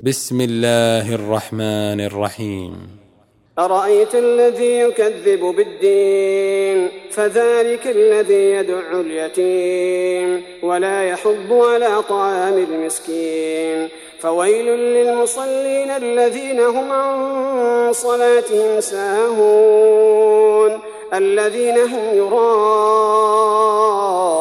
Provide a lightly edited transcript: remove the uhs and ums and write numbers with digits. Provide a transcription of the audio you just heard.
بسم الله الرحمن الرحيم. أرأيت الذي يكذب بالدين فذلك الذي يدع اليتيم ولا يحض على طعام المسكين فويل للمصلين الذين هم عن صلاتهم ساهون الذين هم يراءون